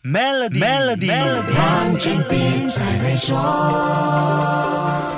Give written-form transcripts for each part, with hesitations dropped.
Melody， 黄俊斌才会说。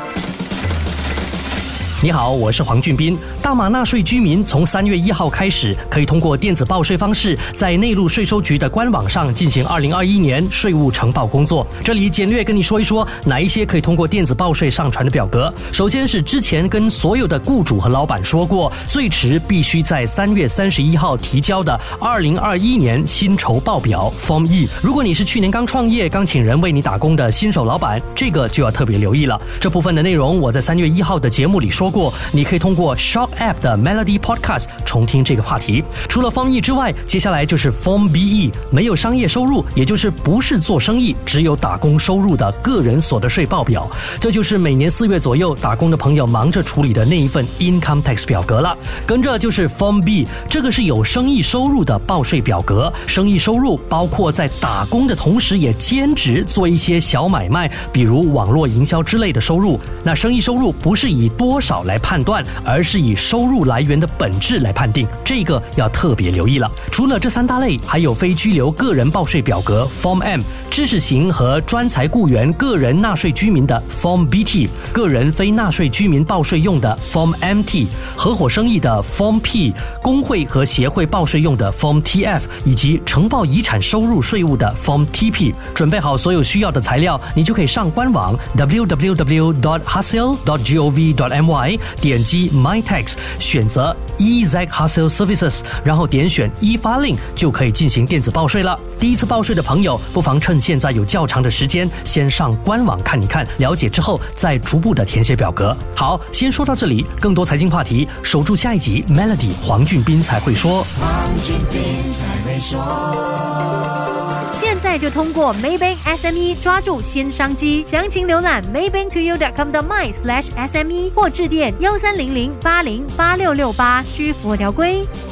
你好，我是黄俊斌。大马纳税居民从3月1号开始，可以通过电子报税方式，在内陆税收局的官网上进行2021年税务呈报工作。这里简略跟你说一说，哪一些可以通过电子报税上传的表格。首先是之前跟所有的雇主和老板说过，最迟必须在3月31号提交的2021年薪酬报表 Form E。如果你是去年刚创业、刚请人为你打工的新手老板，这个就要特别留意了。这部分的内容我在3月1号的节目里说过，你可以通过 Shock App 的 Melody Podcast 重听这个话题。除了 Form E 之外，接下来就是 Form BE， 没有商业收入，也就是不是做生意，只有打工收入的个人所得税报表。这就是每年4月左右打工的朋友忙着处理的那一份 Income Tax 表格了。跟着就是 Form B， 这个是有生意收入的报税表格。生意收入包括在打工的同时也兼职做一些小买卖，比如网络营销之类的收入。那生意收入不是以多少来判断，而是以收入来源的本质来判定，这个要特别留意了。除了这3大类，还有非居留个人报税表格 Form M， 知识型和专才雇员个人纳税居民的 Form BT， 个人非纳税居民报税用的 Form MT， 合伙生意的 Form P， 工会和协会报税用的 Form TF， 以及呈报遗产收入税务的 Form TP。 准备好所有需要的材料，你就可以上官网 www.hasil.gov.my， 点击 My Tax， 选择 EZ Hasil Services， 然后点选发令，就可以进行电子报税了。第一次报税的朋友，不妨趁现在有较长的时间，先上官网看一看，了解之后再逐步的填写表格。好，先说到这里，更多财经话题，守住下一集 Melody 黄俊斌才会说。 黄俊斌才会说。 现在就通过 Maybank SME 抓住新商机，详情浏览 maybanktoyou.com.my/SME 或致电1300808668，需符合条规。